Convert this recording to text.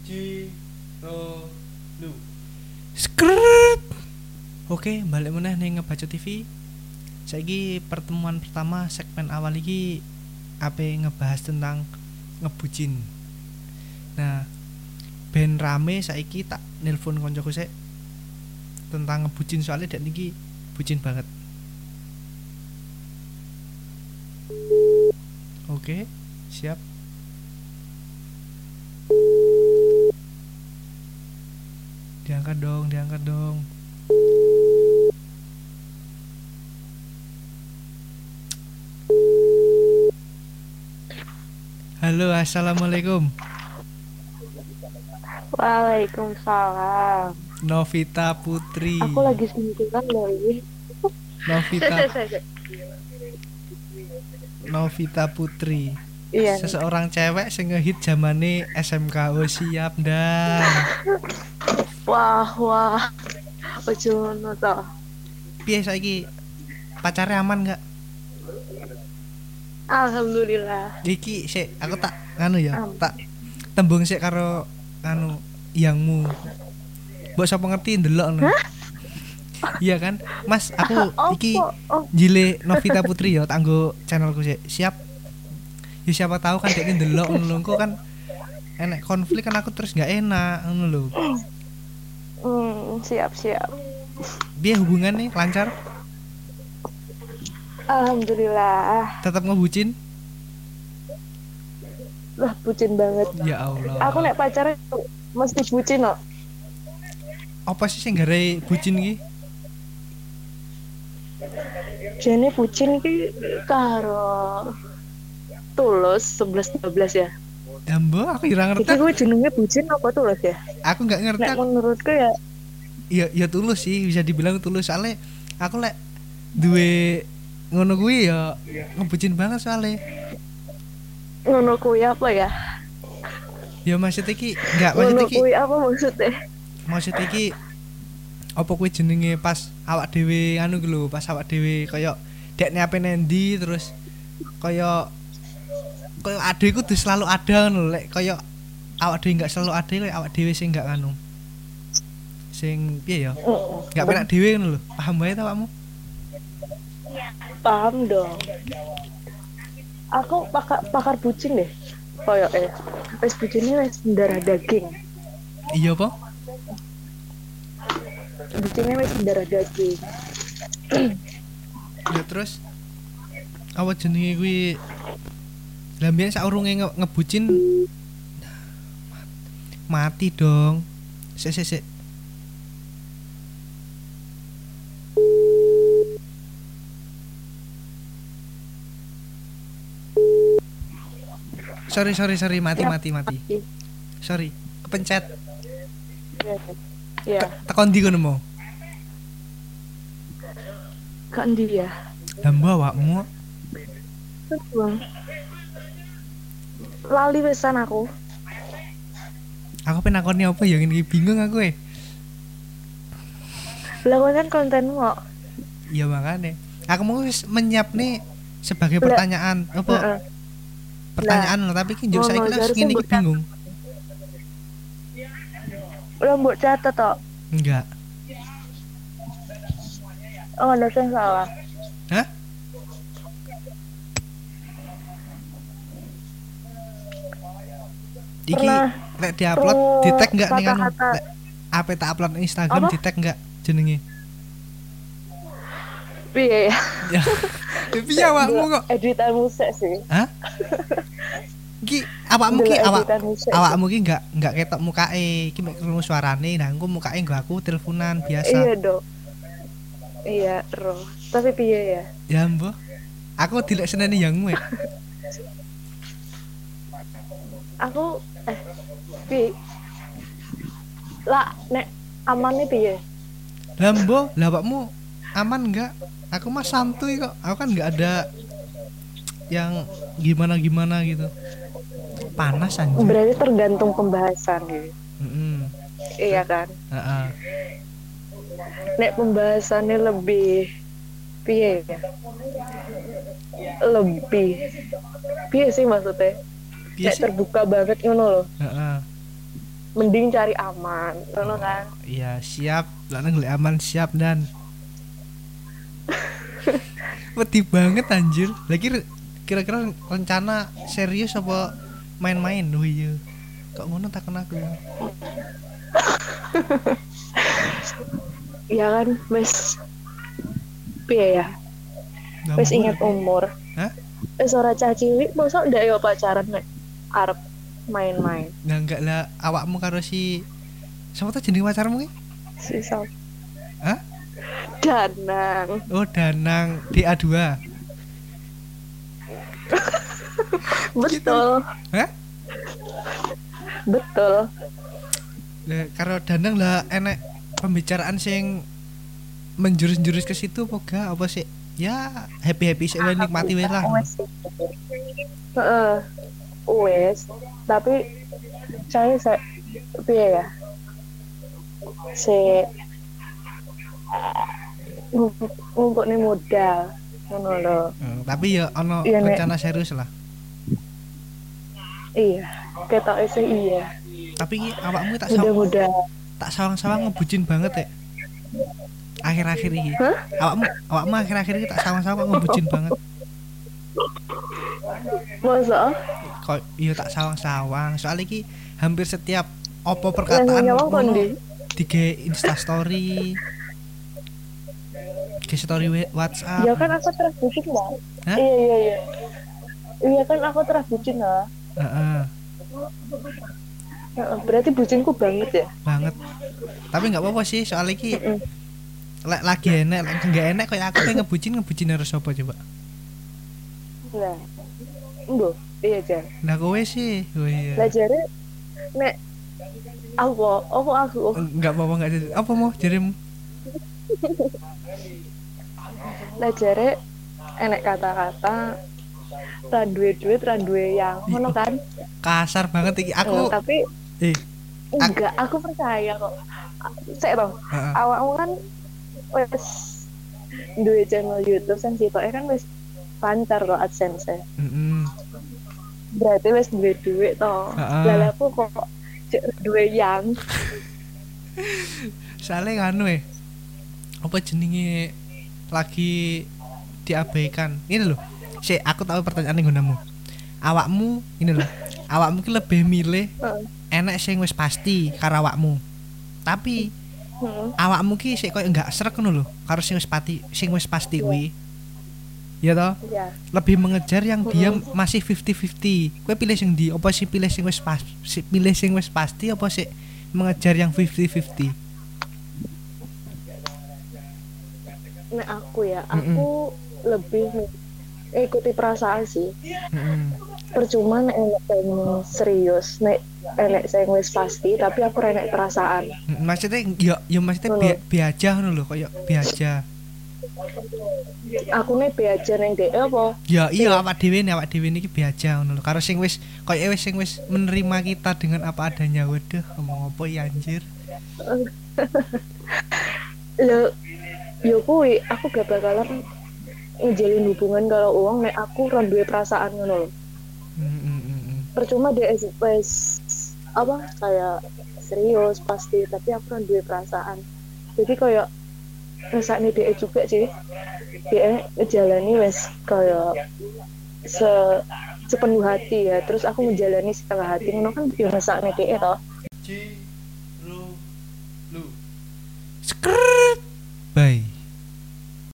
Ciro lu. Skrt. Oke, balik meneh ning Ngebaca TV. Saiki pertemuan pertama segmen awal iki ape ngebahas tentang ngebucin. Nah, ben rame saiki tak nelpon koncoku sik tentang ngebucin soalnya dek niki bucin banget. Oke, siap. Diangkat dong, diangkat dong. Halo, assalamualaikum. Waalaikumsalam. Novita Putri. Aku lagi sendirian loh ini. Novita Putri. Iya. Seseorang cewek sing ngehit zamane SMK. Oh, siap dan. Wah. Ojo ngono to. Piye saiki? Pacare aman enggak? Alhamdulillah. Iki sik aku tak nganu ya, tak tembung sik karo anu yangmu. Mbok sapa ngerti ndelok ngono. Iya kan? Mas, aku iki jile Novita Putri ya, tak nggo channelku sik. Siap. Ya siapa tahu kan dekne ndelok ngono engko kan enek konflik kan aku terus enggak enak ngono lho. Siap. Biar hubungannya lancar? Alhamdulillah. Tetap ngebucin? Lah bucin banget. Ya Allah. Aku nek pacaran mesti bucin kok. Apa sih sing gare bucin iki? Jane bucin iki karo Tulus 11 12 ya. Dambo aku ora ngerti. Iki kuwi jenenge bucin apa Tulus ya? Aku enggak ngerti. Nek menurutku ya ya Tulus sih, bisa dibilang Tulus soalnya aku lek duwe ngono kuwi ya ngebucin banget soalnya. Ngono kuwi apa ya? Ya maksud iki enggak maksud iki. Ngono kuwi apa maksudnya? Maksud iki apa kuwi jenenge pas awak dhewe anu ku lho, pas awak dhewe kaya dekne ape nendi terus kaya ade kudu selalu ada ngono lek kaya awak dhewe enggak selalu ada lek awak dhewe sing enggak anu. Sing piye ya? Enggak penak dhewe ngono lho. Paham wae ta awakmu? Paham dong. Aku pakar bucin deh. Kayak wis bucinnya wis darah daging. Iya apa? Bucinnya wis darah daging. Ya terus apa jenenge kuwi? Lah mbiyen saurunge ngebucin mati dong. Sik. Sorry mati. Sorry, kepencet. Iya. Tekan ndi kono mau? Kan dia. Dambo awakmu. Lali pesan aku. Aku penakoni apa ya ngene bingung aku Lah kan kontenmu kok. Iya makane. Aku mau wis menyiap nih sebagai pertanyaan apa? Pertanyaan lah tapi ki njuk saiki wis ngene iki bingung. Lah mbok catet tok. Enggak. Oh, ada yang salah. Hah? Iki lek diupload di tag enggak nih kan? Apa tak upload Instagram di tag enggak jenenge? Piye ya? Ya. Piye awakmu kok? Editan musik sih. Hah? Ki awakmu ki enggak ketok mukake. Ki mek krungu suarane, nah engko mukake nggo aku teleponan biasa. Iya, Dok. Iya, roh. Tapi piye ya? Ya, Mbah. Aku dilek seneni yangmu ya. Aku piye? Lah nek amane piye? Lah mbah, lah awakmu aman enggak? Aku mah santuy kok. Aku kan enggak ada yang gimana gitu. Panas anjir. Berarti tergantung pembahasan gitu. Iya kan? Heeh. Nek pembahasannya lebih piye ya? Lebih piye sih maksudnya? Nek terbuka banget ngono loh. Heeh. mending cari aman ngono kan. Iya siap lanang golek aman siap dan wedi banget anjir lagi kira-kira rencana serius apa main-main. Oh iya kok ngono takon aku. Ya kan wis piye ya wis ingat umur. Hah? Ora cah cilik mosok ndak yo pacaran nek arep main-main. Nah enggak lah awakmu karo si siapa tuh jeneng pacarmu ki? Si Sal. Hah? Danang. Oh Danang DA2. Betul. Hah? Betul. Lah karo Danang lah enek pembicaraan sing menjurus-jurus ke situ apa sih? Ya happy sih wae nikmati wae lah. Heeh. Wes, tapi saya piye ya? Ngumpul nih modal ngono lho. Tapi ya ono iya, rencana serius lah. Iya, ketoke sih iya. Tapi iki awakmu mudah-mudah tak sawang-sawang ngebucin banget ya. Akhir-akhir ini. Hah? Awakmu akhir-akhir ini tak sawang-sawang ngebucin banget. Masa? Kok iya tak sawang-sawang. Soalnya iki hampir setiap opo perkataan ngono dige Insta story. Ke story WhatsApp. Ya kan aku terus bucin lah. Iya. Iya kan aku terus bucin lah. Heeh. Berarti bucinku banget ya? Banget. Tapi enggak apa-apa sih soalnya iki lagi enek, enggak enek kayak aku pengen ngebucin harus apa coba? Lah. Mbok, iya Jan. Nah kowe sih. Oh iya. Lah jare nek aku enggak apa-apa enggak jadi. Apa mau jarimu? Lah jare enek kata-kata ra duwe duit, ra duwe yang ngono kan. Kasar banget iki aku. Tapi enggak, aku percaya kok. Sik to. Awakmu kan wis duwe channel YouTube sing sitoke kan wis lancar kok AdSense. Berarti wis duwe duit to. Lah aku kok duwe yang. Soalnya nganu apa jenenge lagi diabaikan. Ini loh. Aku tahu pertanyaan ning nggonmu. Awakmu ini loh. Awakmu ki lebih milih enek sing wis pasti karo awakmu. Tapi awakmu ki sik koyo enggak srek ngono lho karo sing wis pasti kuwi. Ya toh? Iya. Lebih mengejar yang dia masih 50-50. Kowe pilih sing ndi? Apa sih pilih sing wis pasti apa sih mengejar yang 50-50? Nek aku ya, aku lebih ikuti perasaan sih. Percuma nek enek serius, nek enek sing wis pasti tapi aku enek perasaan. Maksudnya ya maksudnya biaja ngono lho, koyo biaja. Aku nek biaja ning dhek apa? Ya iya awak dhewe niki biaja ngono lho. Karo sing wis koyo sing wis menerima kita dengan apa adanya. Waduh, ngomong apa ya anjir. Yo kuwi aku gak bakalan ngejalin hubungan kalau uang nek aku ora duwe perasaan ngono lho. Percuma dia wis apa kayak serius pasti tapi aku ora duwe perasaan. Jadi kayak rasane dia juga sih. Dia ngejalani wis kayak sepenuh hati ya. Terus aku menjalani setengah hati ngono kan yo rasane dia toh. Skr